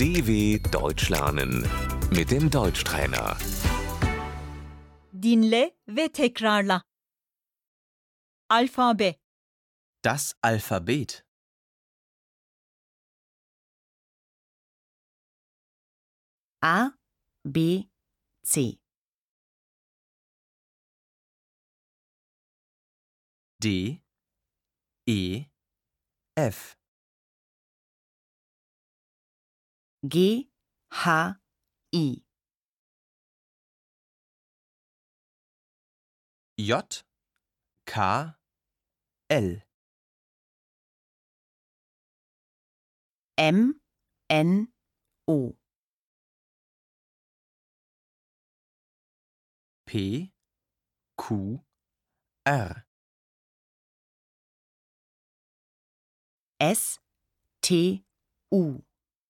DW Deutsch lernen mit dem Deutschtrainer. Dinle ve tekrarla. Alfabe, Das Alphabet. A, B, C. D, E, F. G, H, I. J, K, L. M, N, O. P, Q, R. S, T, U.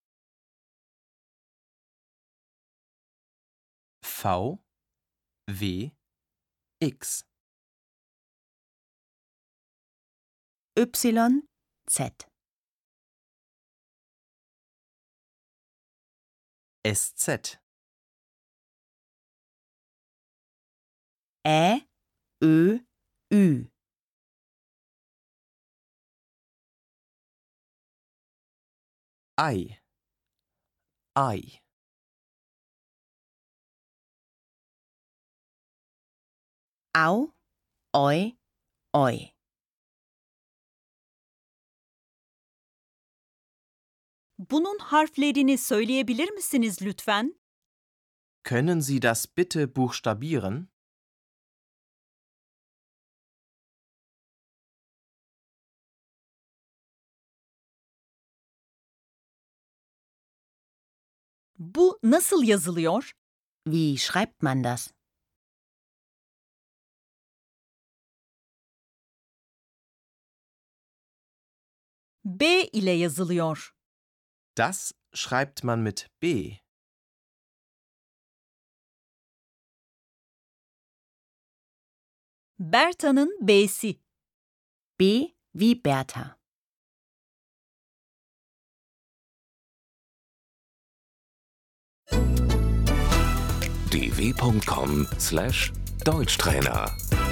V, W, X. Y, Z. SZ. Ä, Ö, Ü. I. I. Au, Oi, Oi. bunun harflerini söyleyebilir misiniz lütfen? Können Sie das bitte buchstabieren? Bu nasıl yazılıyor? Wie schreibt man das? B ile yazılıyor. Das schreibt man mit B. Berta'nın B'si. B wie Bertha. dw.com/Deutschtrainer